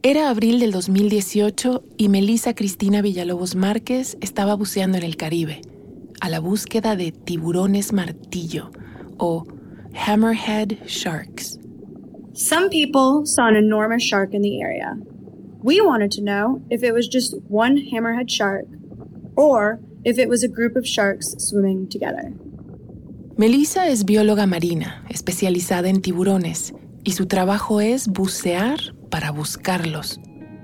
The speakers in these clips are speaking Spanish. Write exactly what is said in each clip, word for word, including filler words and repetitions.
Era abril del dos mil dieciocho y Melissa Cristina Villalobos Márquez estaba buceando en el Caribe, a la búsqueda de tiburones martillo o hammerhead sharks. Some people saw an enormous shark in the area. We wanted to know if it was just one hammerhead shark or if it was a group of sharks swimming together. Melissa es bióloga marina, especializada en tiburones, y su trabajo es bucear para buscarlos.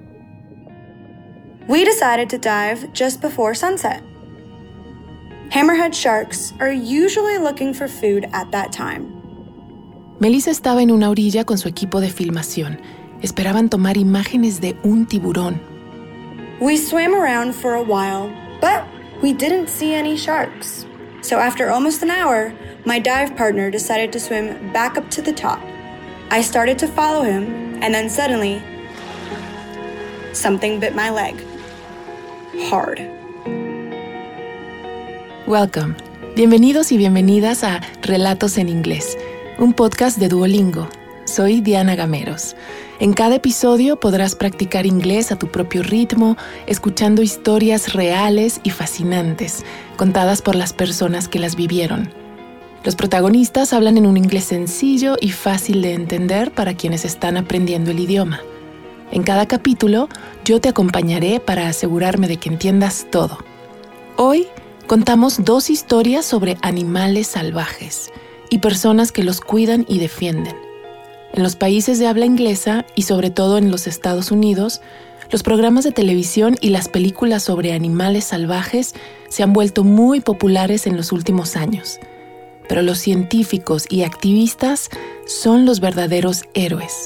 We decided to dive just before sunset. Hammerhead sharks are usually looking for food at that time. Melissa estaba en una orilla con su equipo de filmación. Esperaban tomar imágenes de un tiburón. We swam around for a while, but we didn't see any sharks. So after almost an hour, my dive partner decided to swim back up to the top. I started to follow him, and then suddenly, something bit my leg. Hard. Welcome. Bienvenidos y bienvenidas a Relatos en Inglés, un podcast de Duolingo. Soy Diana Gameros. En cada episodio podrás practicar inglés a tu propio ritmo, escuchando historias reales y fascinantes, contadas por las personas que las vivieron. Los protagonistas hablan en un inglés sencillo y fácil de entender para quienes están aprendiendo el idioma. En cada capítulo, yo te acompañaré para asegurarme de que entiendas todo. Hoy, contamos dos historias sobre animales salvajes y personas que los cuidan y defienden. En los países de habla inglesa y sobre todo en los Estados Unidos, los programas de televisión y las películas sobre animales salvajes se han vuelto muy populares en los últimos años. Pero los científicos y activistas son los verdaderos héroes.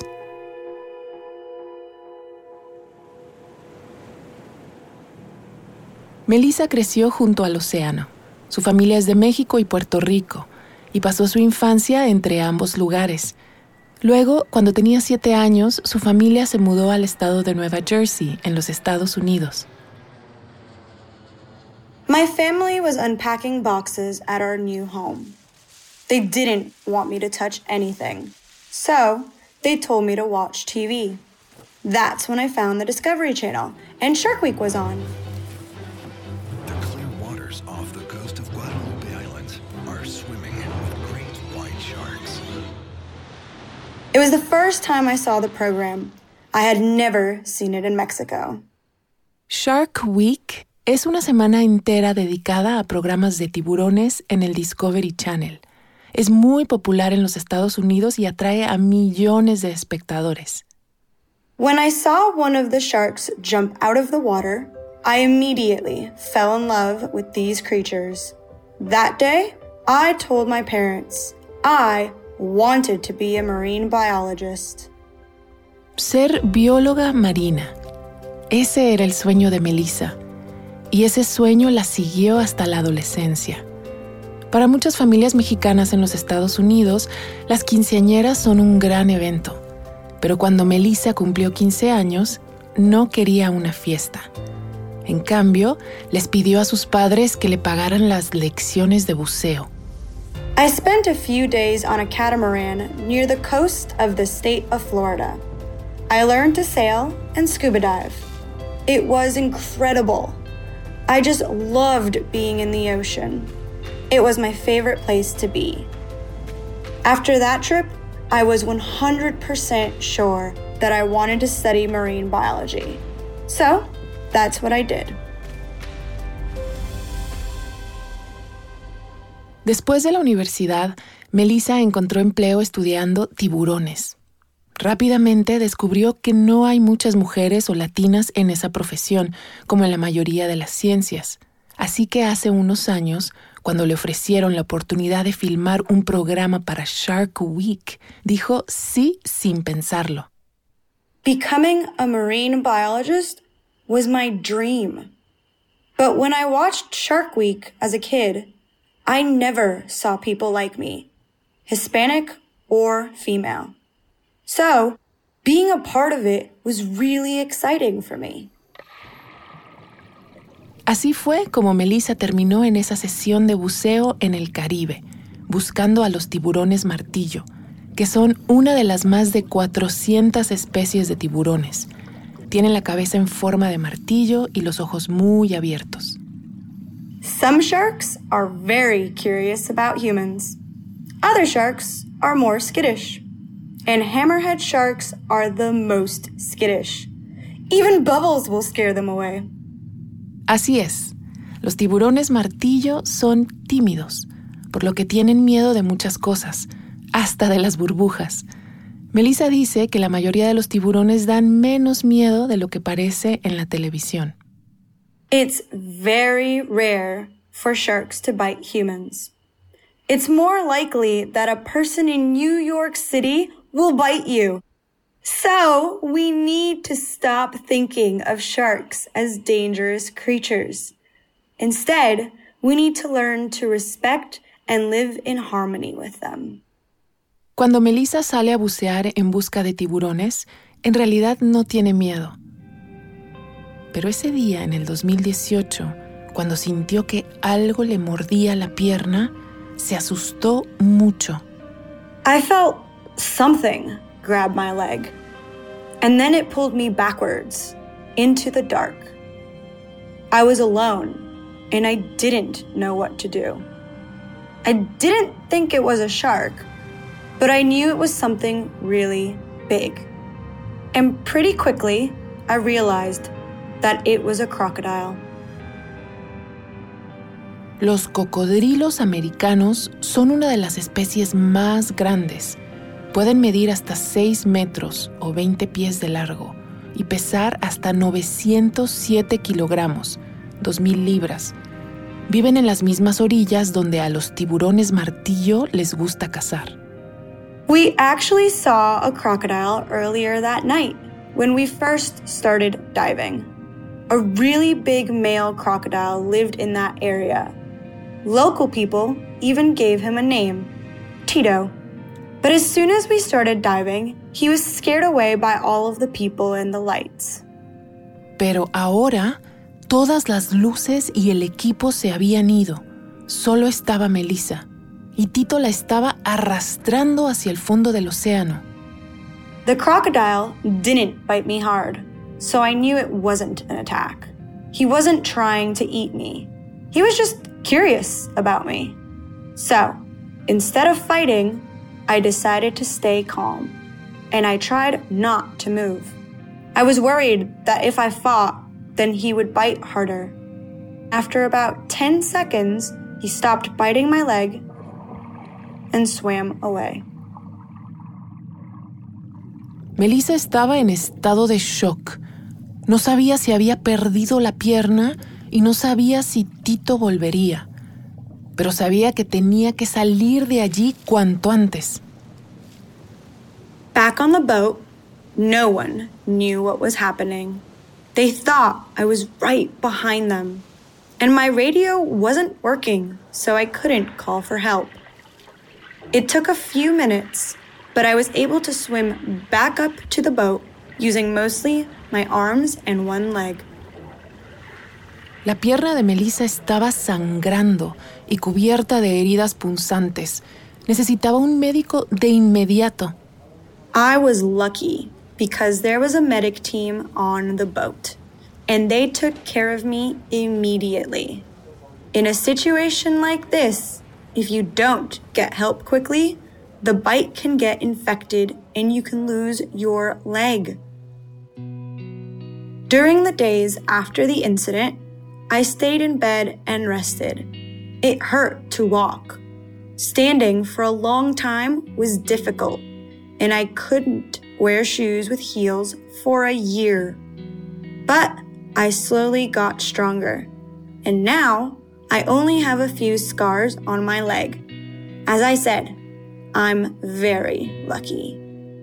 Melissa creció junto al océano. Su familia es de México y Puerto Rico, y pasó su infancia entre ambos lugares. Luego, cuando tenía siete años, su familia se mudó al estado de Nueva Jersey, en los Estados Unidos. My family was unpacking boxes at our new home. They didn't want me to touch anything, so they told me to watch T V. That's when I found the Discovery Channel, and Shark Week was on. The clear waters off the coast of Guadalupe Islands are swimming with great white sharks. It was the first time I saw the program. I had never seen it in Mexico. Shark Week es una semana entera dedicada a programas de tiburones en el Discovery Channel. Es muy popular en los Estados Unidos y atrae a millones de espectadores. When I saw one of the sharks jump out of the water, I immediately fell in love with these creatures. That day, I told my parents I wanted to be a marine biologist. Ser bióloga marina. Ese era el sueño de Melissa. Y ese sueño la siguió hasta la adolescencia. Para muchas familias mexicanas en los Estados Unidos, las quinceañeras son un gran evento. Pero cuando Melissa cumplió quince años, no quería una fiesta. En cambio, les pidió a sus padres que le pagaran las lecciones de buceo. I spent a few days on a catamaran near the coast of the state of Florida. I learned to sail and scuba dive. It was incredible. I just loved being in the ocean. It was my favorite place to be. After that trip, I was one hundred percent sure that I wanted to study marine biology. So, that's what I did. Después de la universidad, Melissa encontró empleo estudiando tiburones. Rápidamente descubrió que no hay muchas mujeres o latinas en esa profesión, como en la mayoría de las ciencias. Así que hace unos años, cuando le ofrecieron la oportunidad de filmar un programa para Shark Week, dijo sí sin pensarlo. Becoming a marine biologist was my dream. But when I watched Shark Week as a kid, I never saw people like me, Hispanic or female. So, being a part of it was really exciting for me. Así fue como Melissa terminó en esa sesión de buceo en el Caribe, buscando a los tiburones martillo, que son una de las más de cuatrocientas especies de tiburones. Tienen la cabeza en forma de martillo y los ojos muy abiertos. Some sharks are very curious about humans. Other sharks are more skittish. And hammerhead sharks are the most skittish. Even bubbles will scare them away. Así es. Los tiburones martillo son tímidos, por lo que tienen miedo de muchas cosas, hasta de las burbujas. Melissa dice que la mayoría de los tiburones dan menos miedo de lo que parece en la televisión. It's very rare for sharks to bite humans. It's more likely that a person in New York City will bite you. So, we need to stop thinking of sharks as dangerous creatures. Instead, we need to learn to respect and live in harmony with them. Cuando Melissa sale a bucear en busca de tiburones, en realidad no tiene miedo. Pero ese día, en el dos mil dieciocho, cuando sintió que algo le mordía la pierna, se asustó mucho. I felt something grab my leg, and then it pulled me backwards into the dark. I was alone, and I didn't know what to do. I didn't think it was a shark, but I knew it was something really big. And pretty quickly, I realized that it was a crocodile. Los cocodrilos americanos son una de las especies más grandes. Pueden medir hasta seis metros o veinte pies de largo y pesar hasta novecientos siete kilogramos, dos mil libras. Viven en las mismas orillas donde a los tiburones martillo les gusta cazar. We actually saw a crocodile earlier that night when we first started diving. A really big male crocodile lived in that area. Local people even gave him a name, Tito. But as soon as we started diving, he was scared away by all of the people and the lights. Pero ahora, todas las luces y el equipo se habían ido. Solo estaba Melissa, y Tito la estaba arrastrando hacia el fondo del océano. The crocodile didn't bite me hard, so I knew it wasn't an attack. He wasn't trying to eat me. He was just curious about me. So, instead of fighting, I decided to stay calm, and I tried not to move. I was worried that if I fought, then he would bite harder. After about ten seconds, he stopped biting my leg and swam away. Melissa estaba en estado de shock. No sabía si había perdido la pierna y no sabía si Tito volvería. Pero sabía que tenía que salir de allí cuanto antes. Back on the boat, no one knew what was happening. They thought I was right behind them. And my radio wasn't working, so I couldn't call for help. It took a few minutes, but I was able to swim back up to the boat using mostly my arms and one leg. La pierna de Melissa estaba sangrando y cubierta de heridas punzantes. Necesitaba un médico de inmediato. I was lucky because there was a medic team on the boat, and they took care of me immediately. In a situation like this, if you don't get help quickly, the bite can get infected and you can lose your leg. During the days after the incident, I stayed in bed and rested. It hurt to walk. Standing for a long time was difficult, and I couldn't wear shoes with heels for a year. But I slowly got stronger, and now I only have a few scars on my leg. As I said, I'm very lucky.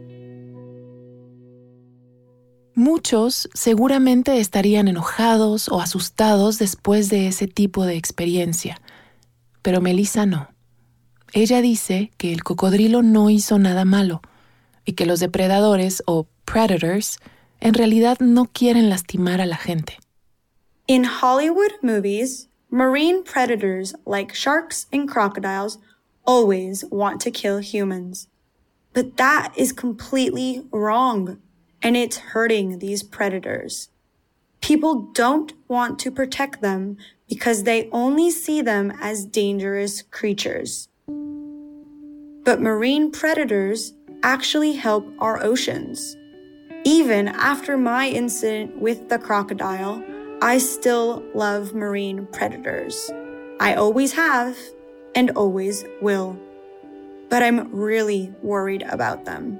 Muchos seguramente estarían enojados o asustados después de ese tipo de experiencia, pero Melissa no. Ella dice que el cocodrilo no hizo nada malo y que los depredadores o predators en realidad no quieren lastimar a la gente. In Hollywood movies, marine predators like sharks and crocodiles always want to kill humans. But that is completely wrong. and it's hurting these predators. People don't want to protect them because they only see them as dangerous creatures. But marine predators actually help our oceans. Even after my incident with the crocodile, I still love marine predators. I always have and always will. But I'm really worried about them.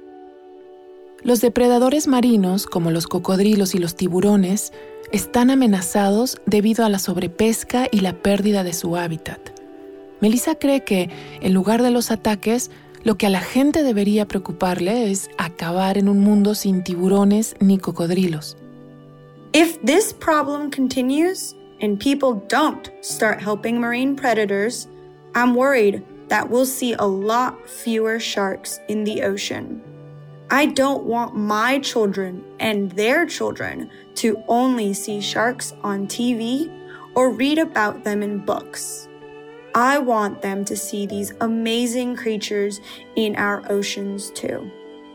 Los depredadores marinos, como los cocodrilos y los tiburones, están amenazados debido a la sobrepesca y la pérdida de su hábitat. Melissa cree que, en lugar de los ataques, lo que a la gente debería preocuparle es acabar en un mundo sin tiburones ni cocodrilos. If this problem continues and people don't start helping marine predators, I'm worried that we'll see a lot fewer sharks in the ocean. I don't want my children and their children to only see sharks on T V or read about them in books. I want them to see these amazing creatures in our oceans too.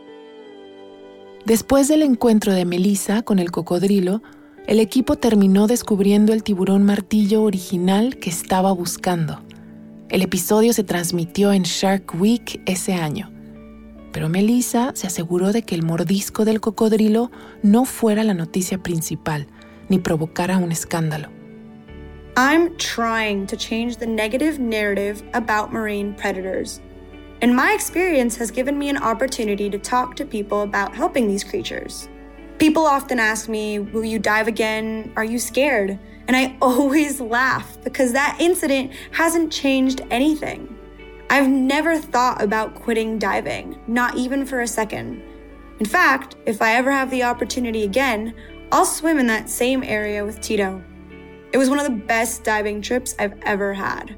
Después del encuentro de Melissa con el cocodrilo, el equipo terminó descubriendo el tiburón martillo original que estaba buscando. El episodio se transmitió en Shark Week ese año. Pero Melissa se aseguró de que el mordisco del cocodrilo no fuera la noticia principal, ni provocara un escándalo. I'm trying to change the negative narrative about marine predators. And my experience has given me an opportunity to talk to people about helping these creatures. People often ask me, will you dive again? Are you scared? And I always laugh because that incident hasn't changed anything. I've never thought about quitting diving, not even for a second. In fact, if I ever have the opportunity again, I'll swim in that same area with Tito. It was one of the best diving trips I've ever had.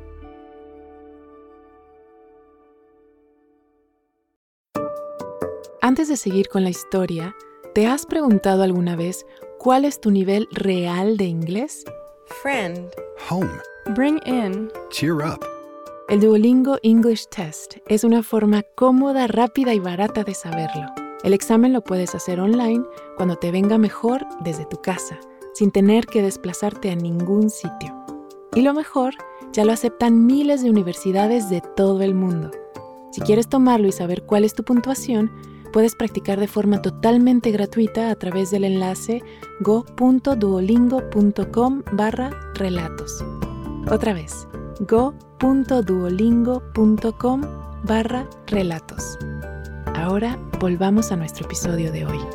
Antes de seguir con la historia, ¿te has preguntado alguna vez cuál es tu nivel real de inglés? Friend. Home. Bring in. Cheer up. El Duolingo English Test es una forma cómoda, rápida y barata de saberlo. El examen lo puedes hacer online cuando te venga mejor desde tu casa, sin tener que desplazarte a ningún sitio. Y lo mejor, ya lo aceptan miles de universidades de todo el mundo. Si quieres tomarlo y saber cuál es tu puntuación, puedes practicar de forma totalmente gratuita a través del enlace go.duolingo.com barra relatos. Otra vez, go.duolingo.com barra relatos. Ahora volvamos a nuestro episodio de hoy.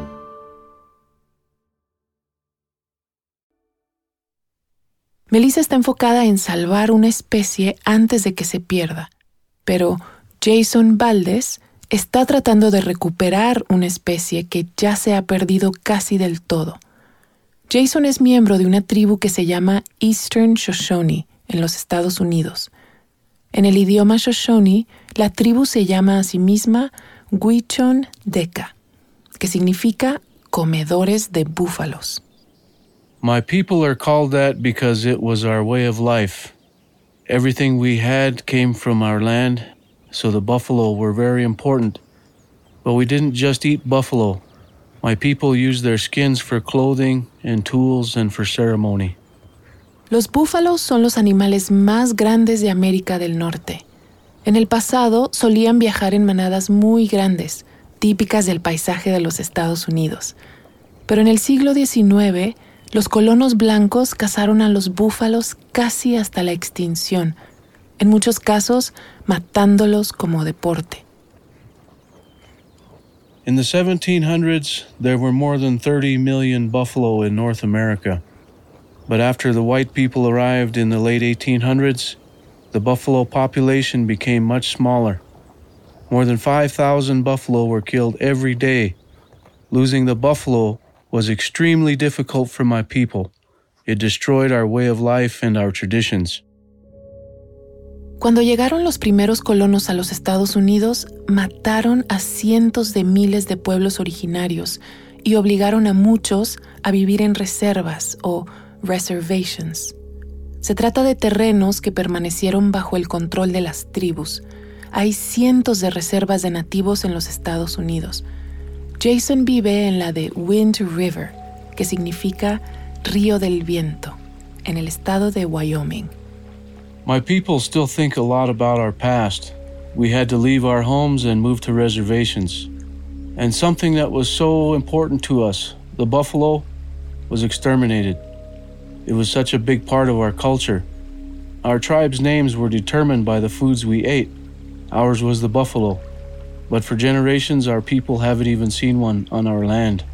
Melissa está enfocada en salvar una especie antes de que se pierda, pero Jason Valdez está tratando de recuperar una especie que ya se ha perdido casi del todo. Jason es miembro de una tribu que se llama Eastern Shoshone en los Estados Unidos. En el idioma Shoshone, la tribu se llama a sí misma Gwich'in Deka, que significa comedores de búfalos. My people are called that because it was our way of life. Everything we had came from our land, so the buffalo were very important. But we didn't just eat buffalo. My people used their skins for clothing and tools and for ceremony. Los búfalos son los animales más grandes de América del Norte. En el pasado solían viajar en manadas muy grandes, típicas del paisaje de los Estados Unidos. Pero en el siglo diecinueve, los colonos blancos cazaron a los búfalos casi hasta la extinción, en muchos casos matándolos como deporte. In the seventeen hundreds, there were more than thirty million buffalo in North America. But after the white people arrived in the late eighteen hundreds, the buffalo population became much smaller. More than five thousand buffalo were killed every day. Losing the buffalo was extremely difficult for my people. It destroyed our way of life and our traditions. Cuando llegaron los primeros colonos a los Estados Unidos, mataron a cientos de miles de pueblos originarios y obligaron a muchos a vivir en reservas o reservations. Se trata de terrenos que permanecieron bajo el control de las tribus. Hay cientos de reservas de nativos en los Estados Unidos. Jason vive en la de Wind River, que significa Río del Viento, en el estado de Wyoming. My people still think a lot about our past. We had to leave our homes and move to reservations. And something that was so important to us, the buffalo, was exterminated. It was such a big part of our culture. Our tribe's names were determined by the foods we ate. Ours was the buffalo. But for generations, our people haven't even seen one on our land.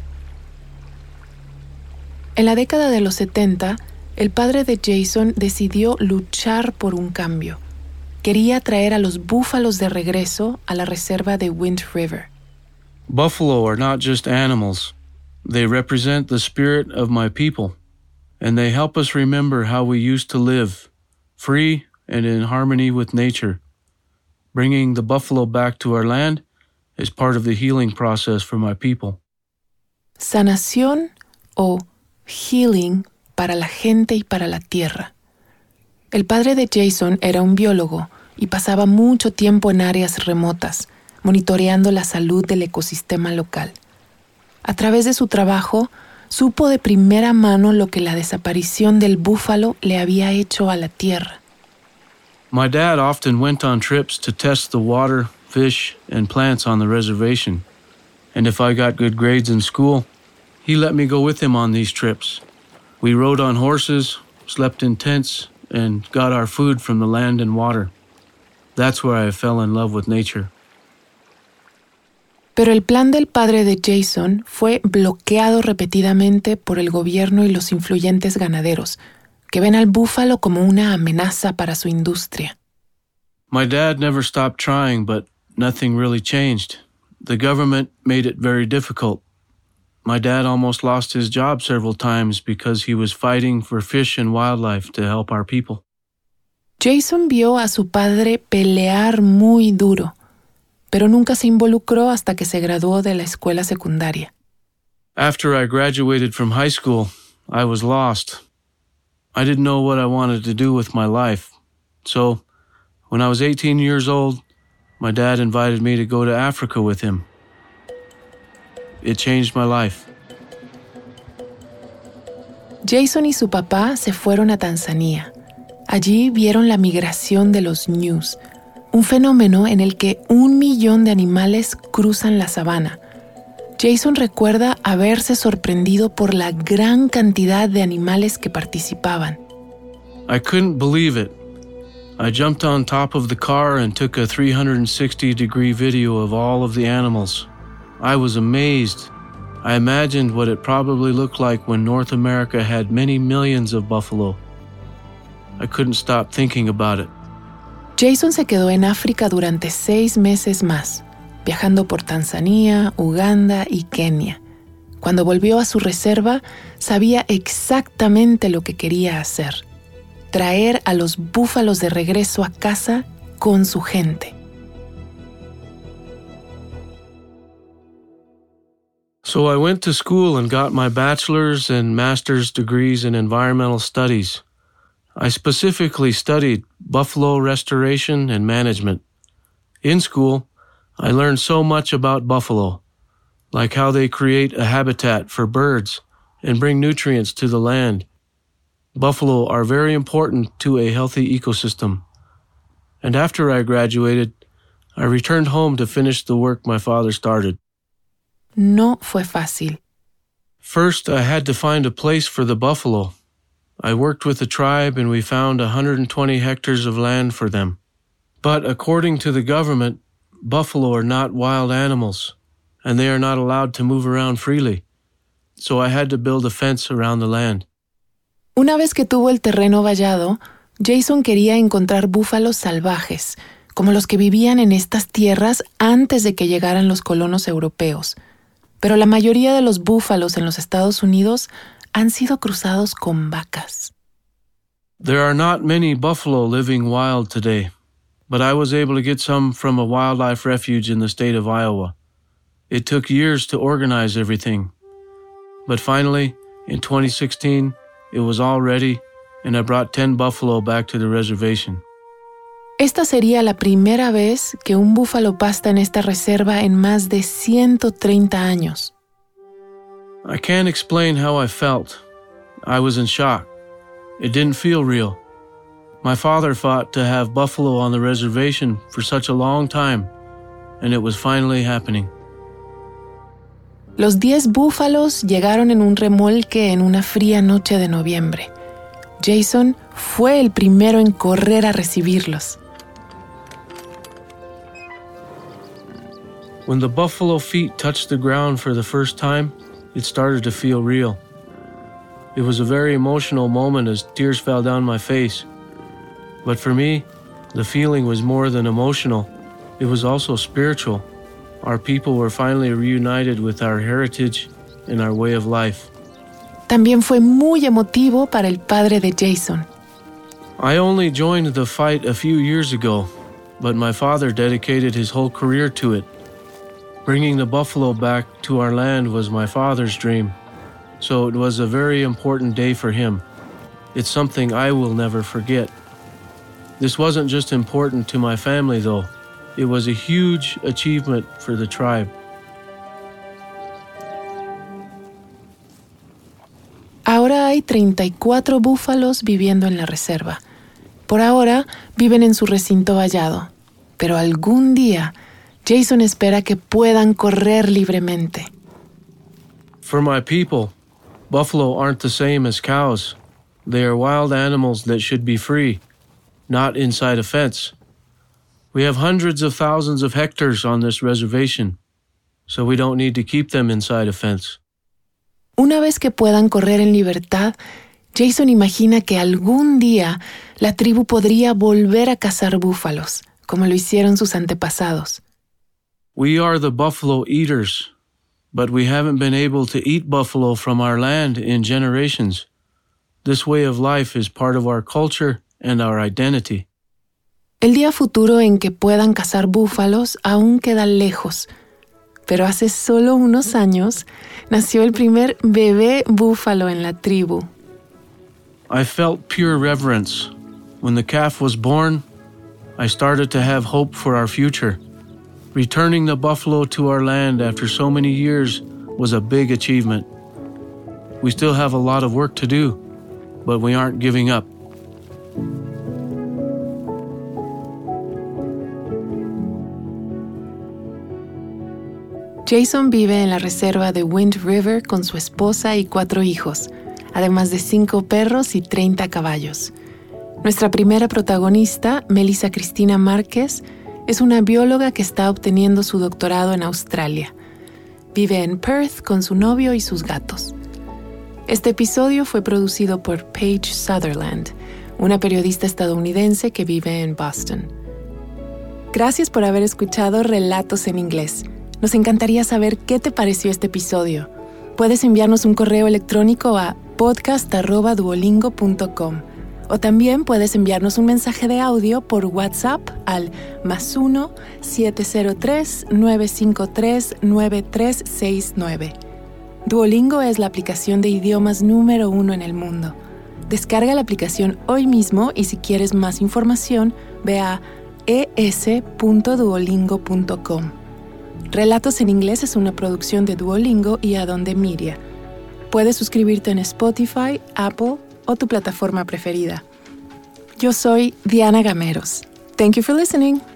En la década de los setenta, el padre de Jason decidió luchar por un cambio. Quería traer a los búfalos de regreso a la reserva de Wind River. Buffalo are not just animals. They represent the spirit of my people, and they help us remember how we used to live, free and in harmony with nature. Bringing the buffalo back to our land is part of the healing process for my people. Sanación o healing para la gente y para la tierra. El padre de Jason era un biólogo y pasaba mucho tiempo en áreas remotas, monitoreando la salud del ecosistema local. A través de su trabajo, supo de primera mano lo que la desaparición del búfalo le había hecho a la tierra. My dad often went on trips to test the water, fish, and plants on the reservation. And if I got good grades in school, he let me go with him on these trips. We rode on horses, slept in tents, and got our food from the land and water. That's where I fell in love with nature. Pero el plan del padre de Jason fue bloqueado repetidamente por el gobierno y los influyentes ganaderos, que ven al búfalo como una amenaza para su industria. My dad never stopped trying, but nothing really changed. The government made it very difficult. My dad almost lost his job several times because he was fighting for fish and wildlife to help our people. Jason vio a su padre pelear muy duro, pero nunca se involucró hasta que se graduó de la escuela secundaria. After I graduated from high school, I was lost. I didn't know what I wanted to do with my life. So, when I was eighteen years old, my dad invited me to go to Africa with him. It changed my life. Jason y su papá se fueron a Tanzania. Allí vieron la migración de los ñus, un fenómeno en el que un millón de animales cruzan la sabana. Jason recuerda haberse sorprendido por la gran cantidad de animales que participaban. I couldn't believe it. I jumped on top of the car and took a three hundred sixty degree video of all of the animals. I was amazed. I imagined what it probably looked like when North America had many millions of buffalo. I couldn't stop thinking about it. Jason se quedó en África durante seis meses más, viajando por Tanzania, Uganda y Kenia. Cuando volvió a su reserva, sabía exactamente lo que quería hacer: traer a los búfalos de regreso a casa con su gente. So I went to school and got my bachelor's and master's degrees in environmental studies. I specifically studied buffalo restoration and management. In school, I learned so much about buffalo, like how they create a habitat for birds and bring nutrients to the land. Buffalo are very important to a healthy ecosystem. And after I graduated, I returned home to finish the work my father started. No fue fácil. First, I had to find a place for the buffalo. I worked with the tribe and we found one hundred twenty hectares of land for them. But according to the government, buffalo are not wild animals, and they are not allowed to move around freely. So I had to build a fence around the land. Una vez que tuvo el terreno vallado, Jason quería encontrar búfalos salvajes, como los que vivían en estas tierras antes de que llegaran los colonos europeos. Pero la mayoría de los búfalos en los Estados Unidos han sido cruzados con vacas. There are not many buffalo living wild today, but I was able to get some from a wildlife refuge in the state of Iowa. It took years to organize everything. But finally, in twenty sixteen, it was all ready, and I brought ten buffalo back to the reservation. Esta sería la primera vez que un búfalo pasta en esta reserva en más de ciento treinta años. I can't explain how I felt. I was in shock. It didn't feel real. My father fought to have buffalo on the reservation for such a long time, and it was finally happening. Los diez búfalos llegaron en un remolque en una fría noche de noviembre. Jason fue el primero en correr a recibirlos. When the buffalo feet touched the ground for the first time, it started to feel real. It was a very emotional moment as tears fell down my face. But for me, the feeling was more than emotional. It was also spiritual. Our people were finally reunited with our heritage and our way of life. También fue muy emotivo para el padre de Jason. I only joined the fight a few years ago, but my father dedicated his whole career to it. Bringing the buffalo back to our land was my father's dream, so it was a very important day for him. It's something I will never forget. This wasn't just important to my family, though. It was a huge achievement for the tribe. Ahora hay treinta y cuatro búfalos viviendo en la reserva. Por ahora viven en su recinto vallado, pero algún día Jason espera que puedan correr libremente. For my people, buffalo aren't the same as cows. They are wild animals that should be free, not inside a fence. We have hundreds of thousands of hectares on this reservation, so we don't need to keep them inside a fence. Una vez que puedan correr en libertad, Jason imagina que algún día la tribu podría volver a cazar búfalos, como lo hicieron sus antepasados. We are the buffalo eaters, but we haven't been able to eat buffalo from our land in generations. This way of life is part of our culture and our identity. El día futuro en que puedan cazar búfalos aún queda lejos, pero hace solo unos años nació el primer bebé búfalo en la tribu. I felt pure reverence. When the calf was born, I started to have hope for our future. Returning the buffalo to our land after so many years was a big achievement. We still have a lot of work to do, but we aren't giving up. Jason vive en la reserva de Wind River con su esposa y cuatro hijos, además de cinco perros y treinta caballos. Nuestra primera protagonista, Melissa Cristina Márquez, es una bióloga que está obteniendo su doctorado en Australia. Vive en Perth con su novio y sus gatos. Este episodio fue producido por Paige Sutherland, una periodista estadounidense que vive en Boston. Gracias por haber escuchado Relatos en Inglés. Nos encantaría saber qué te pareció este episodio. Puedes enviarnos un correo electrónico a podcast arroba duolingo punto com o también puedes enviarnos un mensaje de audio por WhatsApp al más uno siete cero tres nueve cinco tres nueve tres seis nueve. Duolingo es la aplicación de idiomas número uno en el mundo. Descarga la aplicación hoy mismo y si quieres más información, ve a e s punto duolingo punto com. Relatos en Inglés es una producción de Duolingo y Adonde Media. Puedes suscribirte en Spotify, Apple o tu plataforma preferida. Yo soy Diana Gameros. Thank you for listening.